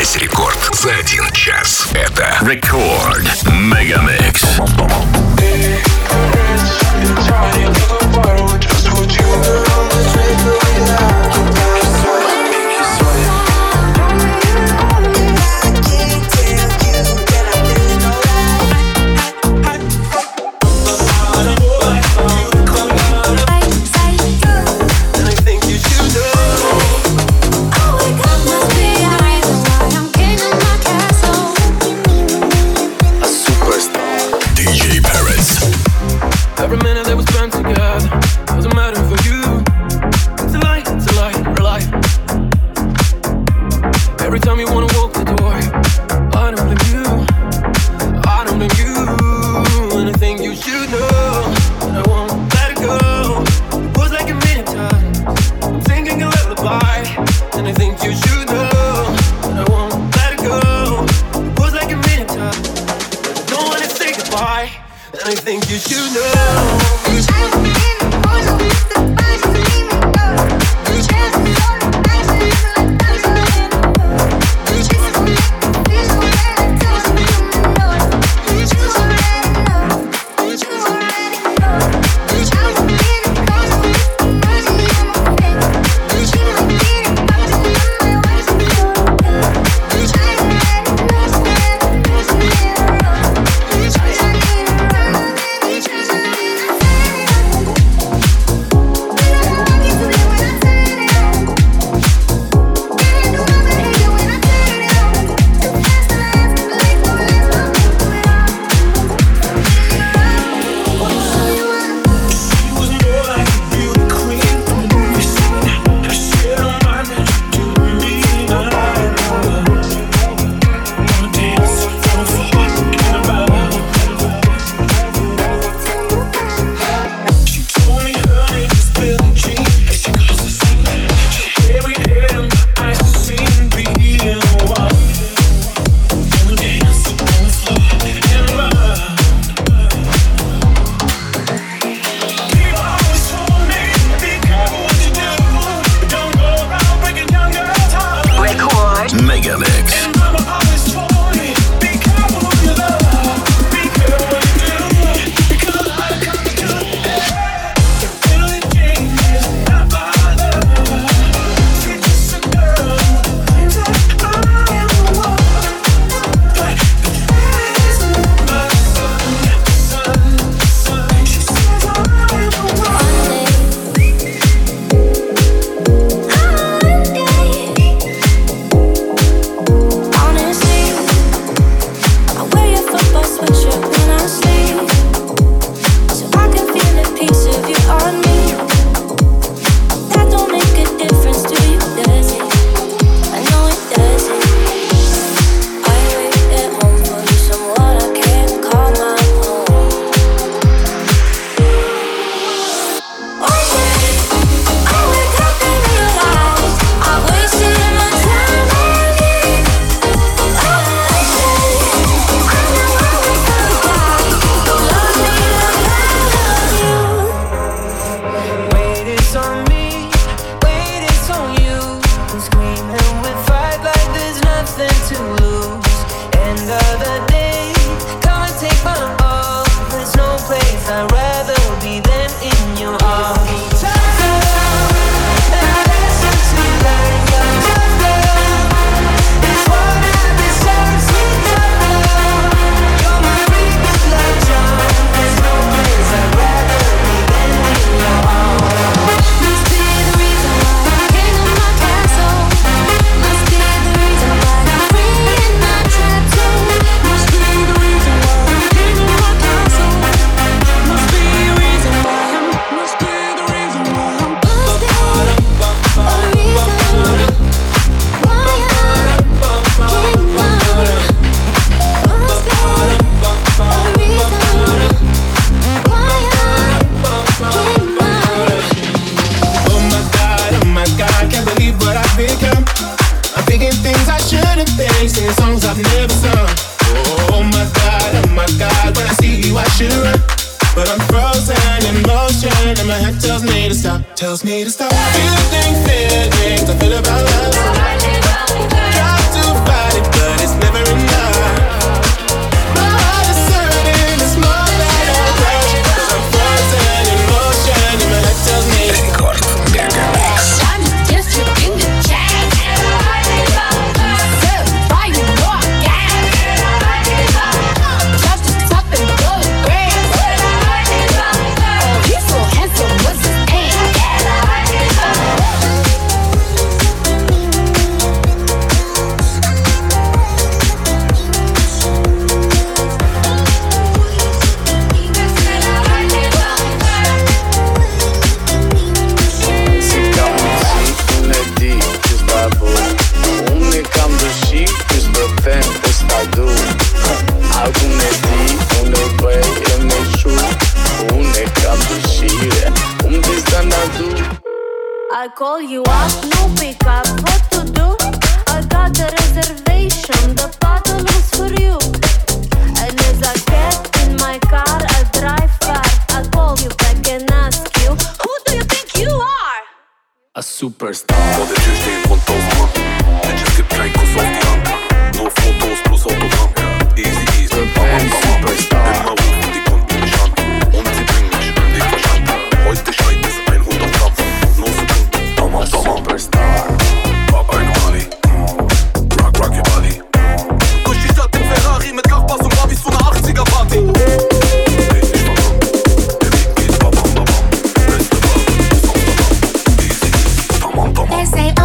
Весь рекорд за 1 час. Это Рекорд Мегамикс. Tells me to stop. Feelings, I feel about love. Try to fight it, call you up, no pick up. What to do? I got a reservation. The bottle was for you. And as I get in my car, I drive far. I call you back and ask you, who do you think you are? A superstar. Wat het juist een van toast man. Netjes skip klein kost op die hand. No foto's plus autogram. Easy easy. Ein Superstar. Immer rufen, die kommt mir nicht an. Und sie bringen mich nicht verstanden. Heute schreit es 100 Gramm. No Sekunden. Tamam tamam. Superstar. Pop ein Mali. Rock your body. Durch die Stadt im Ferrari mit Nachbars und Barbies zu einer 80er Party. Red nicht verloren. Der Weg geht babam babam. Beste Bar. Easy easy. Tamam tamam. They say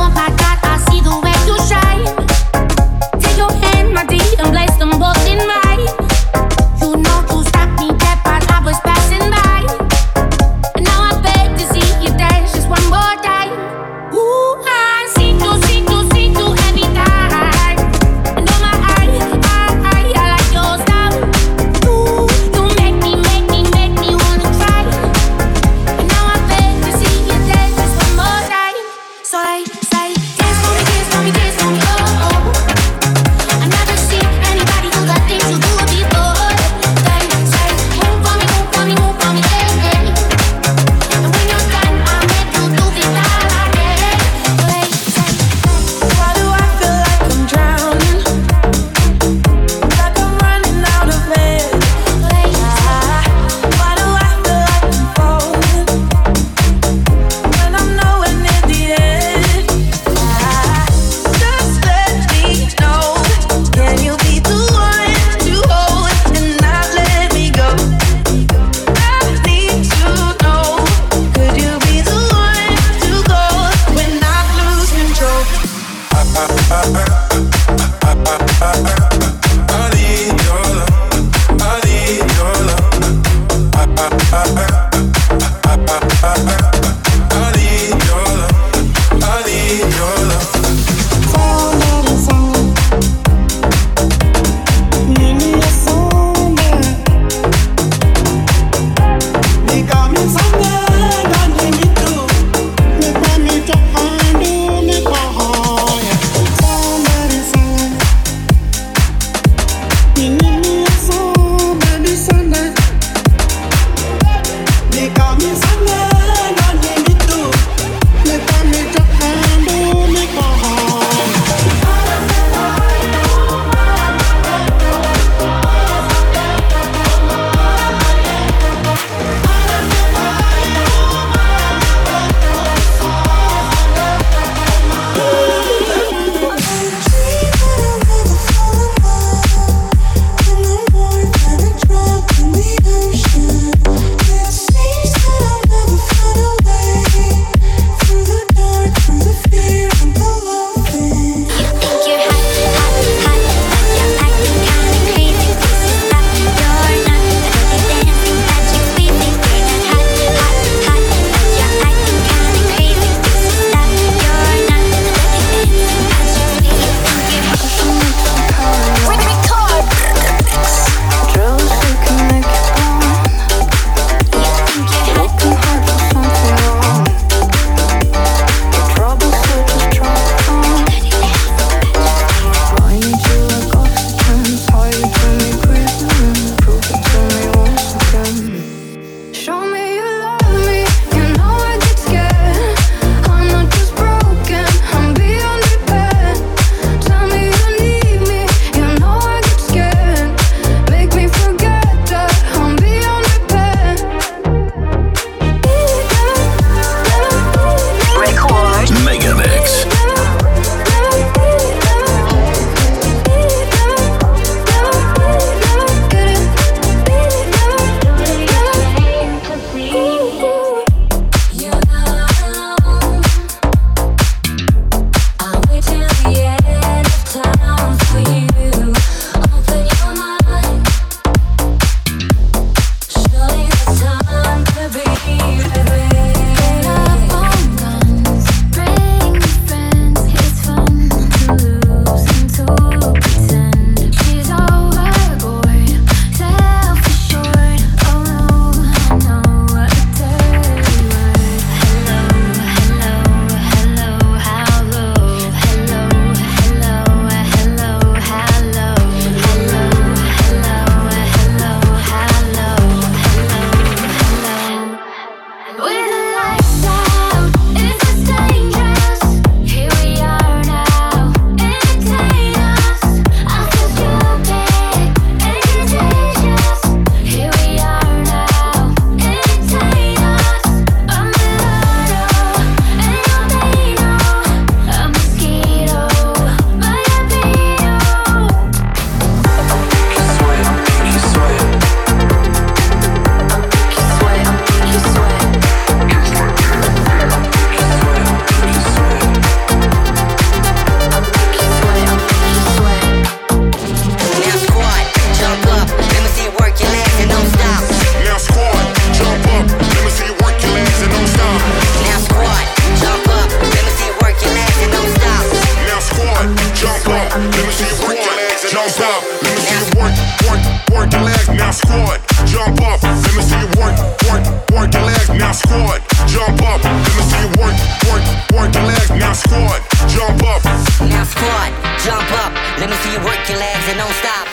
don't stop. Let me see you work your legs, now squat. Jump up. Let me see you work your legs, now squat. Jump up. Let me see you work your legs, now squat. Jump up. Now squat, jump up. Let me see you work your legs and don't stop.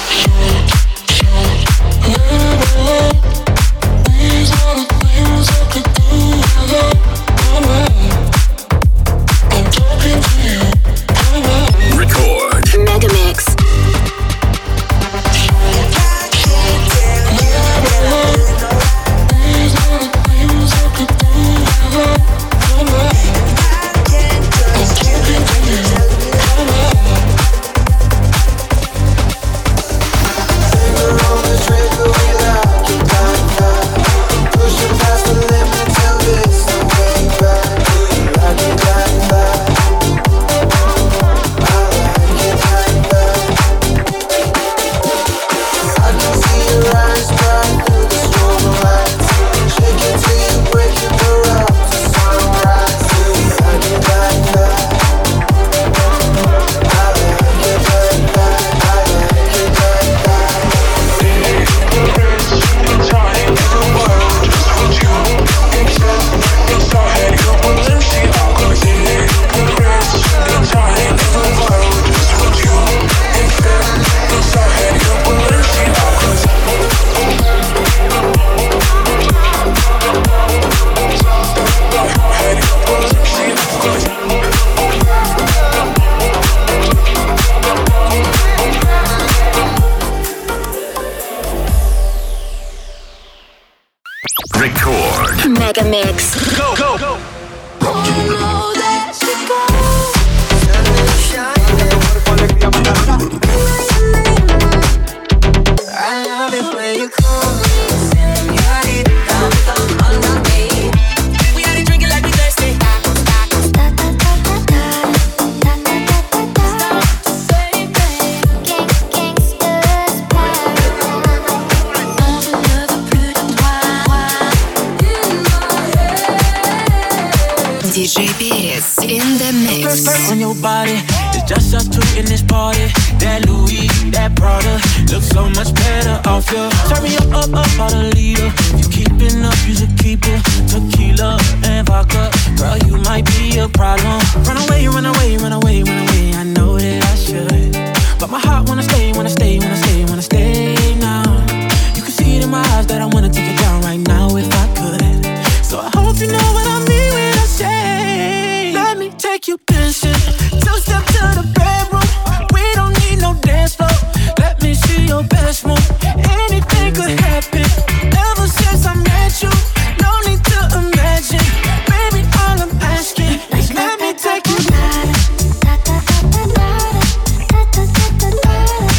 Record. Megamix. Megamix. Go, go, go. I love it when you call me. We had it drinking like we thirsty. DJ Perez in the mix. On your body, it's just us two in this party. That Louis, that Prada, looks so much better off you. Turn me up, about a liter. If you keeping up, you should keep it. Tequila and vodka, girl, you might be a problem. Run away, run away, run away, run away. I know that I should, but my heart wanna stay, wanna stay, wanna stay, wanna stay now. You can see it in my eyes that I wanna take it down right now if I could. So I hope you know what I mean when I say, let me take you dancing. Two-step to the bedroom. We don't need no dance floor. Let me see your best move. Anything could happen. Ever since I met you, no need to imagine. Baby, all I'm asking is let me take you.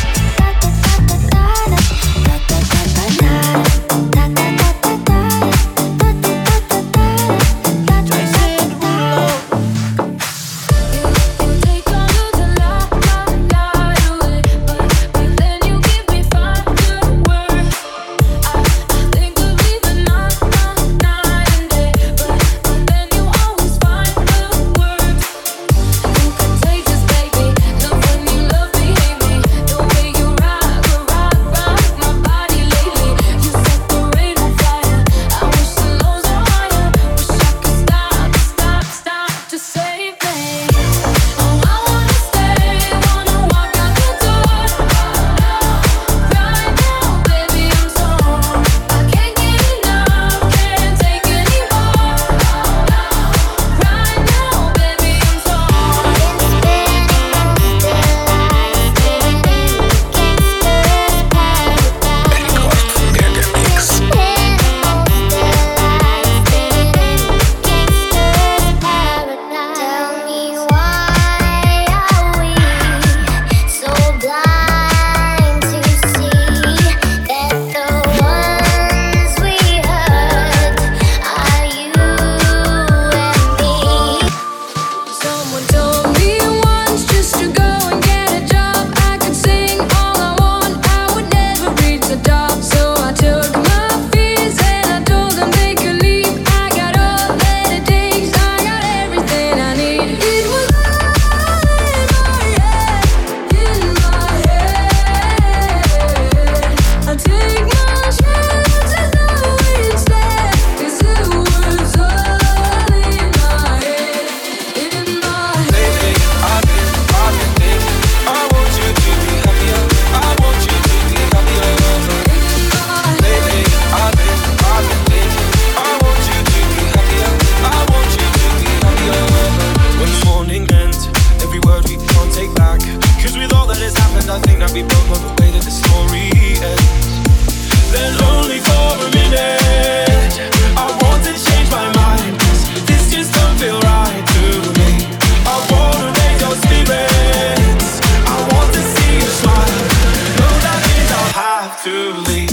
I think that we both know the way that the story ends. Then only for a minute I want to change my mind, 'cause this just don't feel right to me. I wanna raise your spirits, I want to see you smile. No, that means I'll have to leave.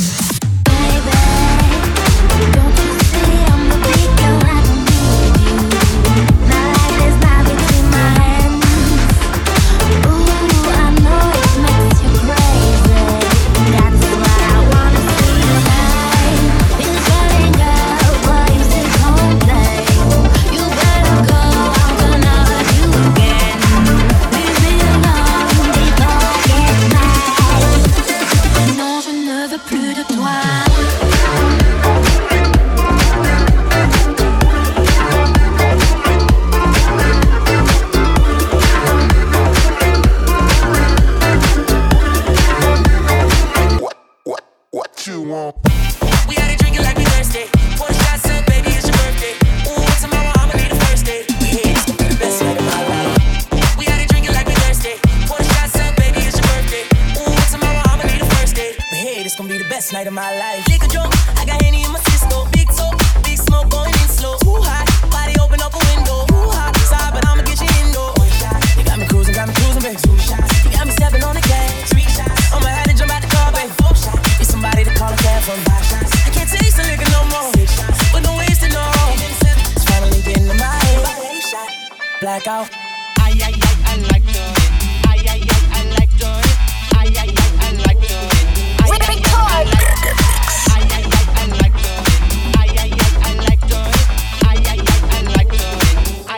We had it drinking like we thirsty. Pour the shots up, baby, it's your birthday. Ooh, tomorrow I'ma need a first date. Yeah, it's gonna be the best night of my life. We had it drinking like we thirsty. Pour the shots up, baby, it's your birthday. Ooh, tomorrow I'ma need a first date. But hey, this gonna be the best night of my life. Liquor drunk, I got Henny in my system. Big talk, big smoke going in slow. Too hot, body open up a window. Too hot, side, but I'ma get you indoor. You got me cruising, babe. You got me stepping on the gas. I'ma have to jump out the car, babe. Need somebody to call a cab from. I can't taste the liquor no more, but don't waste it no. It's finally getting to my head. Blackout. I like to. I like to. I like to. I like to. I like to. I like to.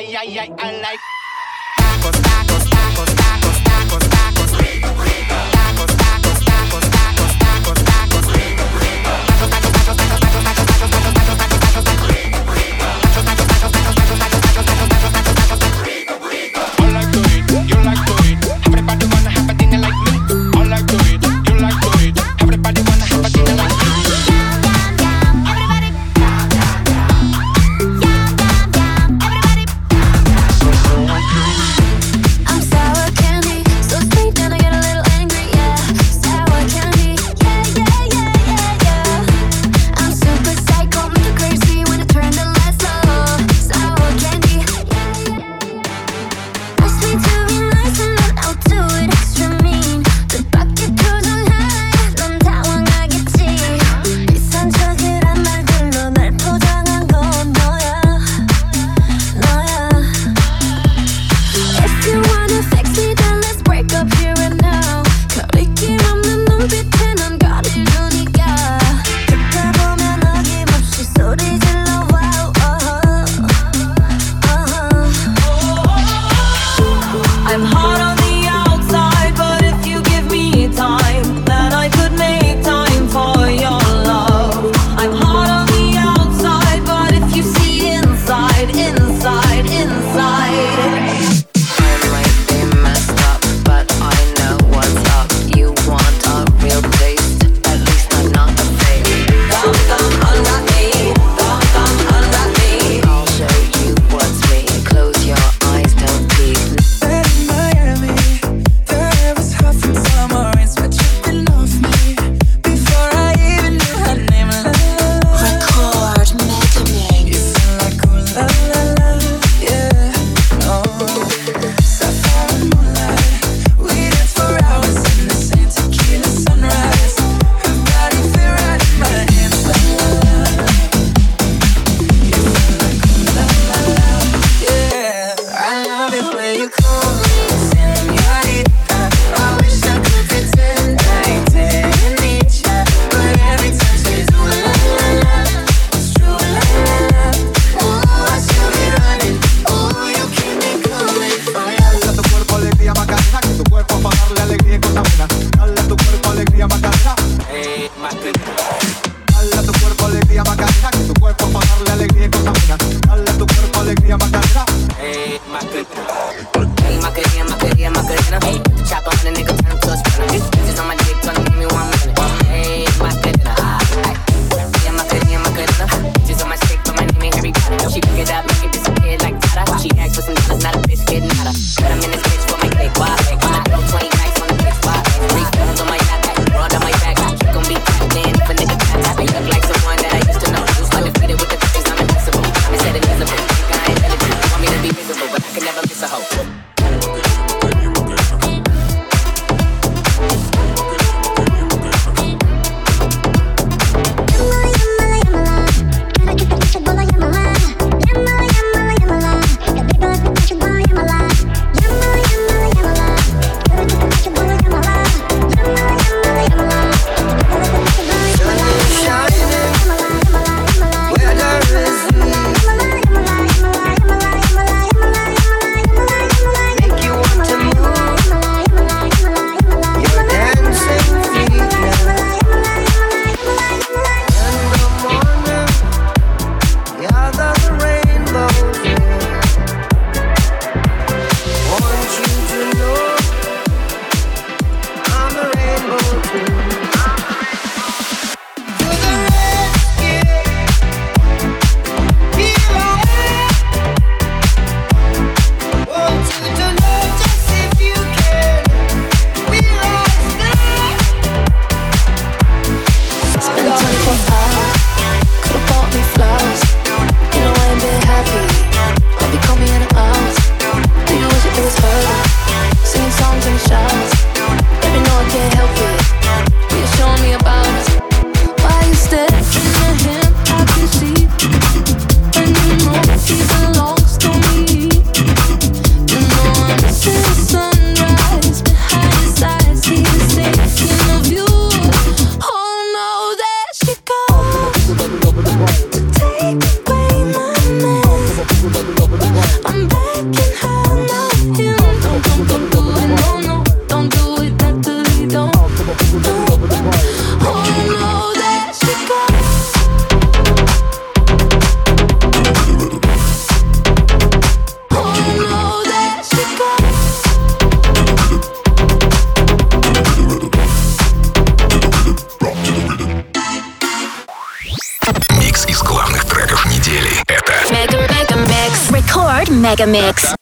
Mega Mix.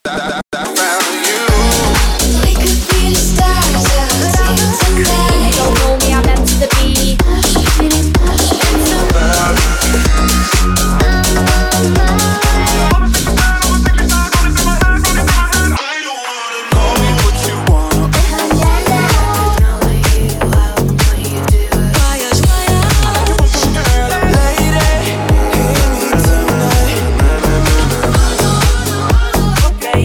Okay.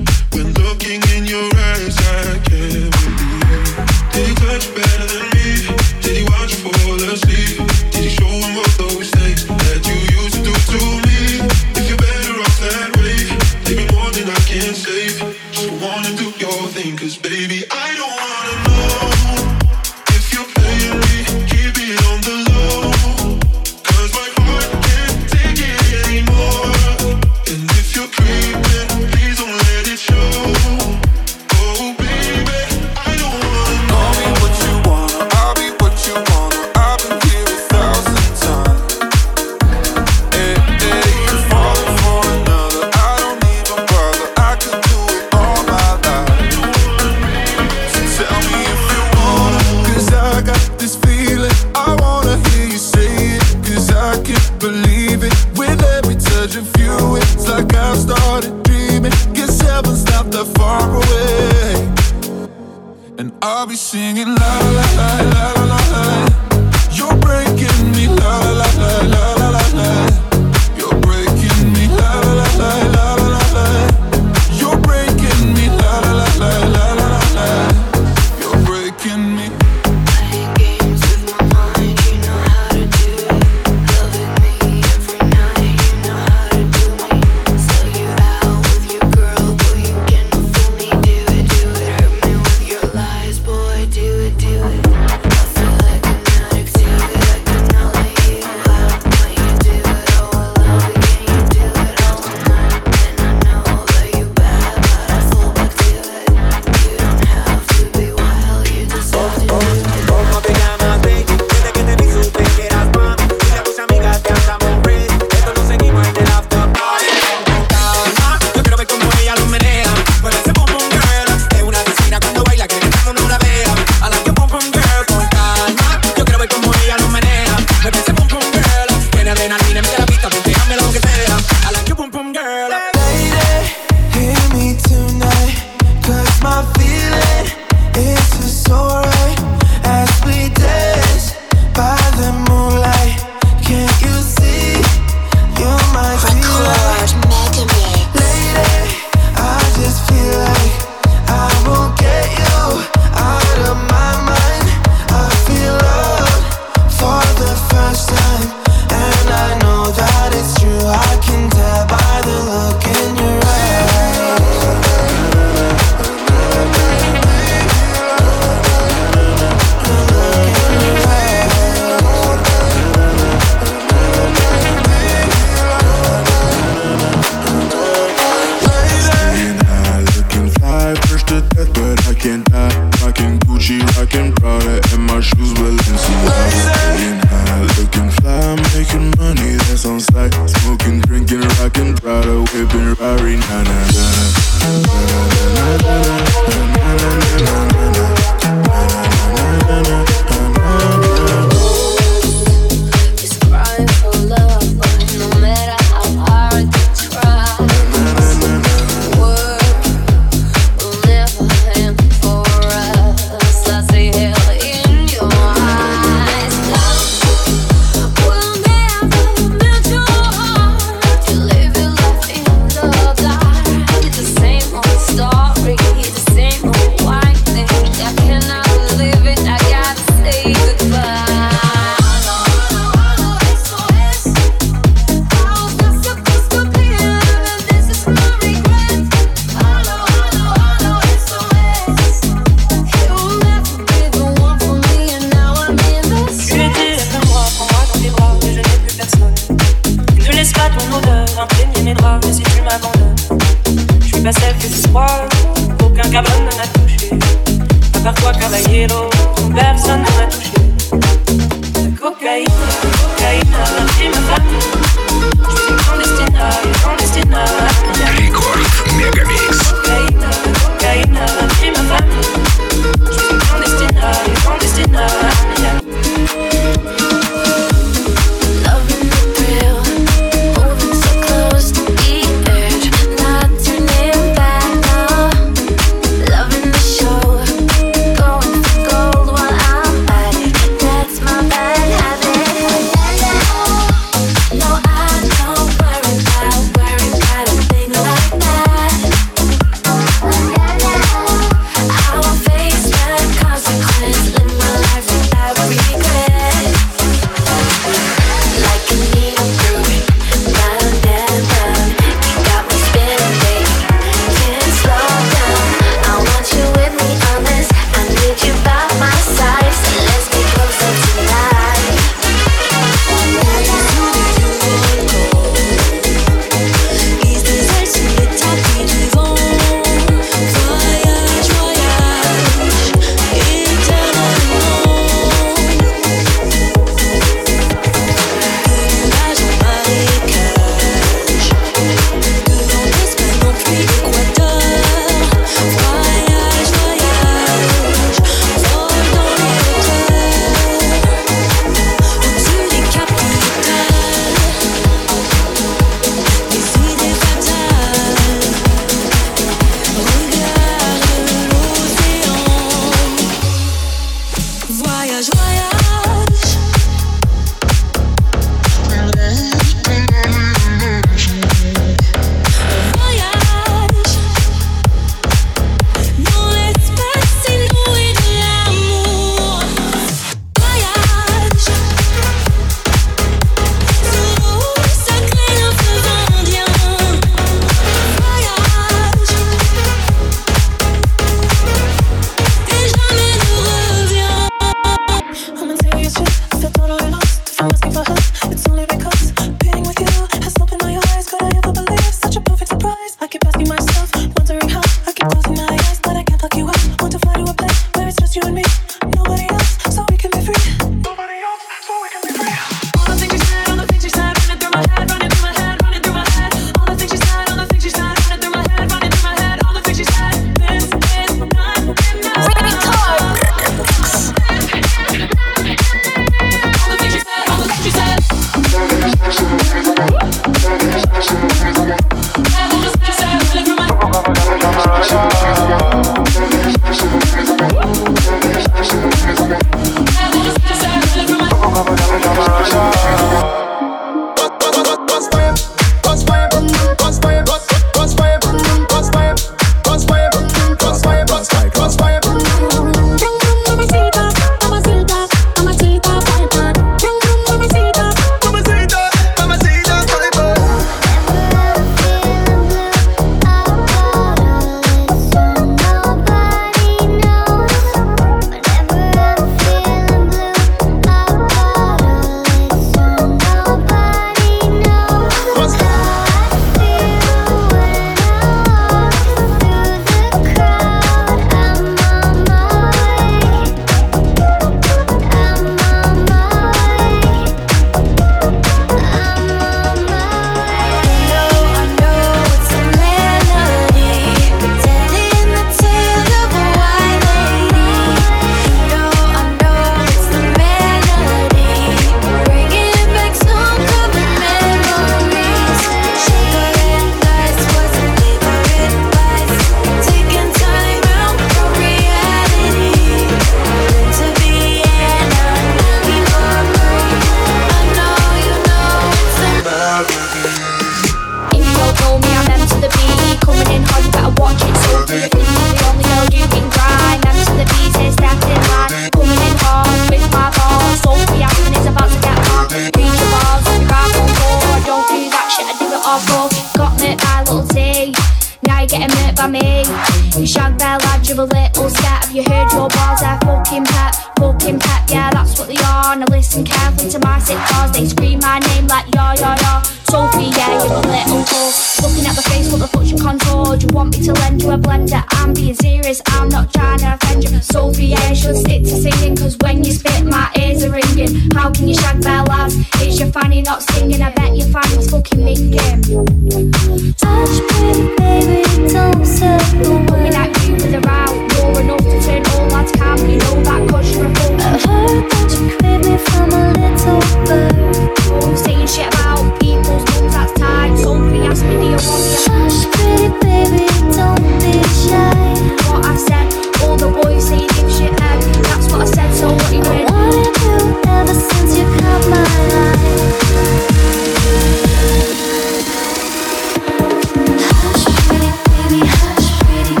Hush, pretty baby, hush, pretty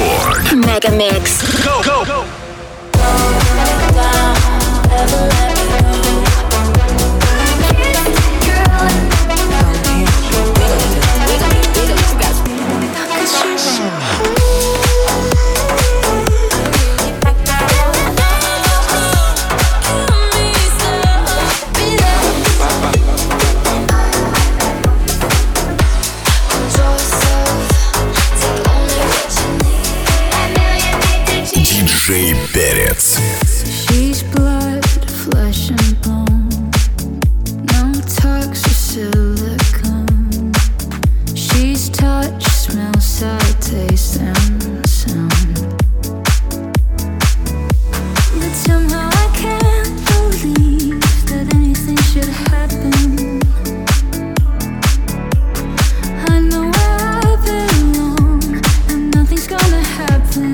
Рекорд. Мегамикс. Go, go, go. Диджей Перец. She's blood, flesh and bone. No tucks or silicone. She's touch, smell, sight, taste, and sound. But somehow I can't believe that anything should happen. I know where I belong, and nothing's gonna happen.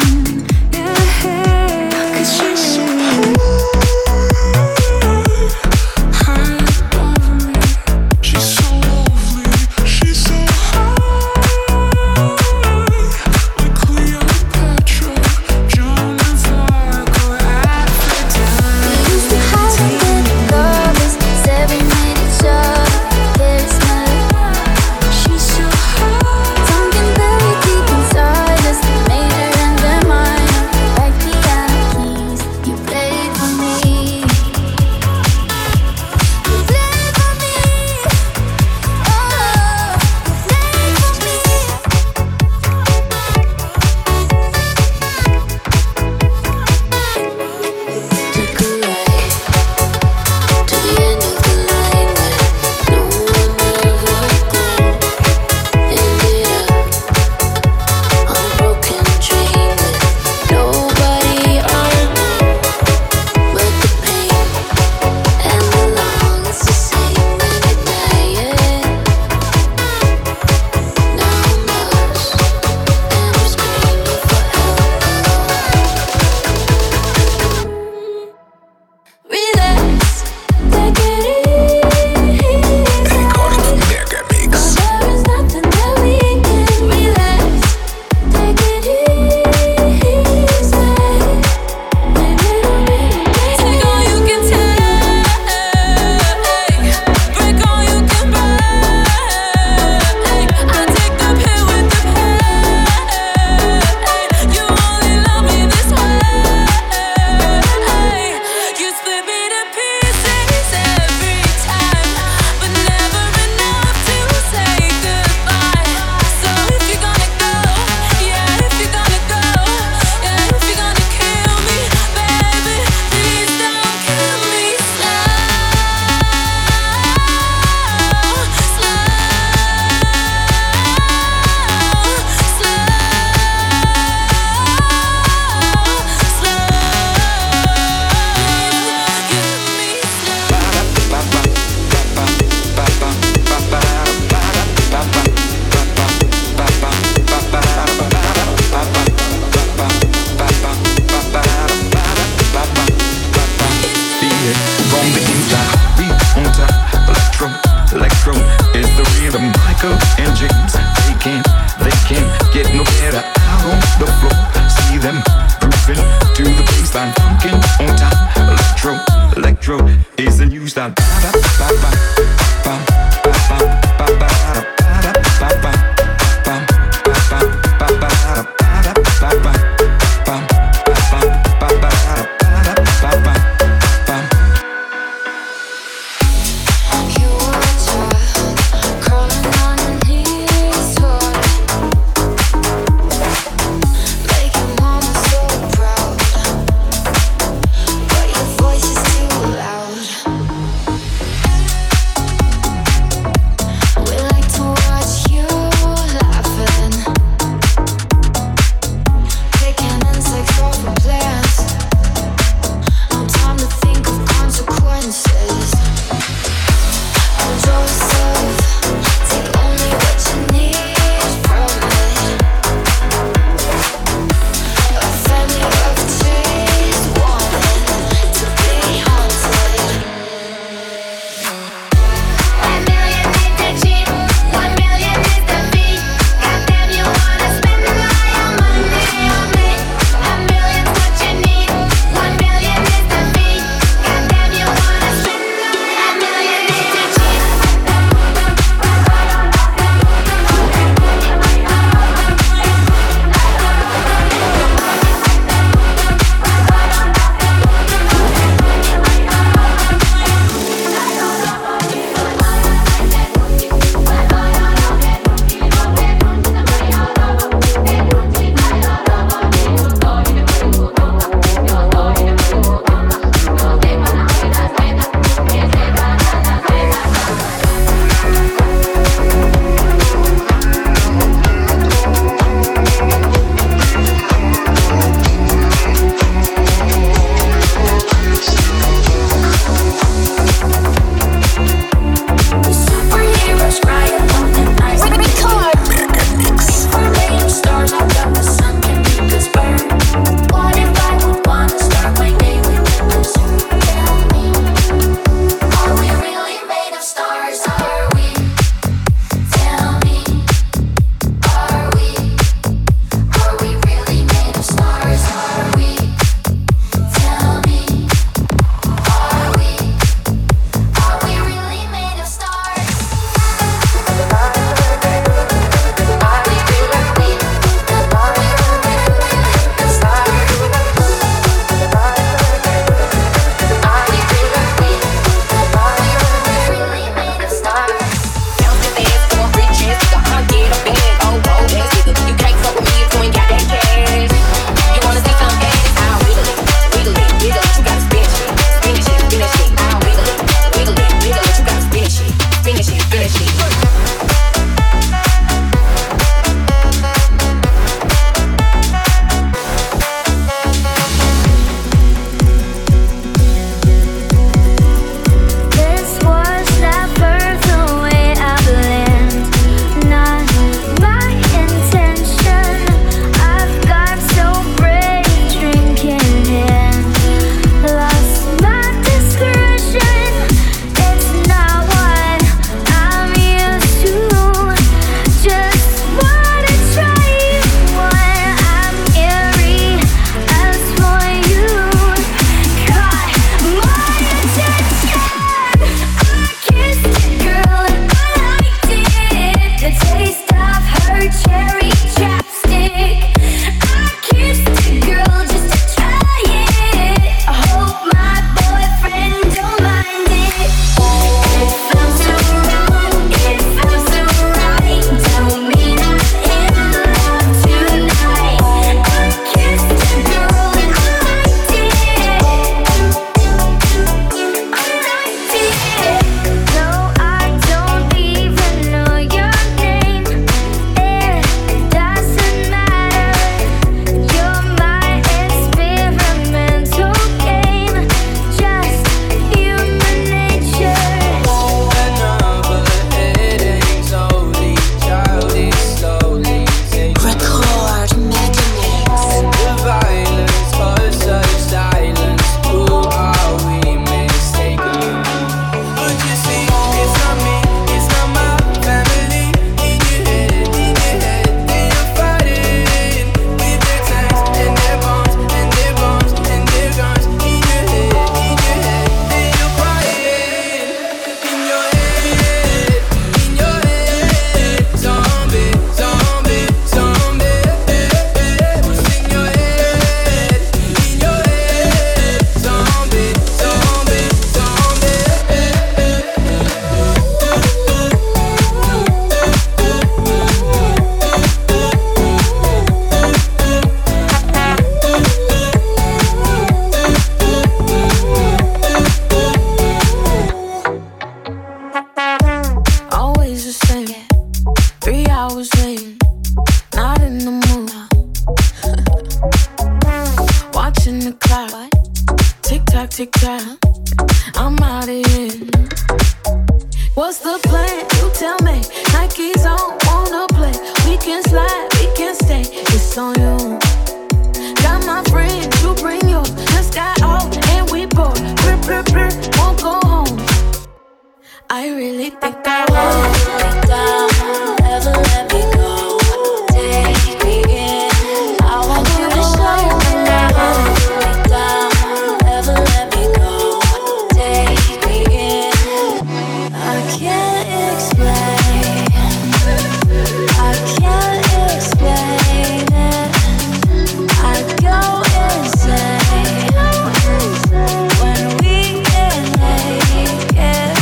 tick-tock, I'm out of here. What's the plan? You tell me. Nike's on, wanna play. We can slide, we can stay. It's on you. Got my friends, you bring yours. Let's got out and we bored. Won't go home. I really think I won't let down. Never let me go. Take me in. I want you to show me that I won't let down. Never let me go. Take me in. I can't explain. I can't explain it. I go insane when we get naked.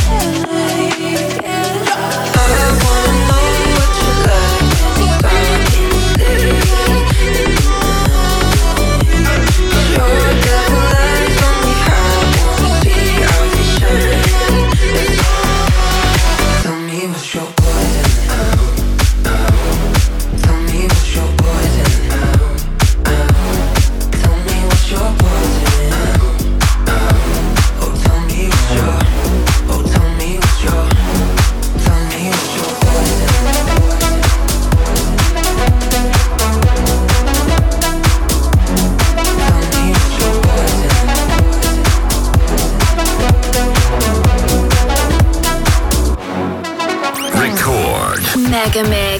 I wanna know what you like Your devil eyes on me, I wanna see how you shine. Tell me what's your poison. Tell me what's your poison. Tell me what's your poison. Oh, tell me what's your. Oh, tell me what's your. Tell me what's your poison. Record. Mega Mix.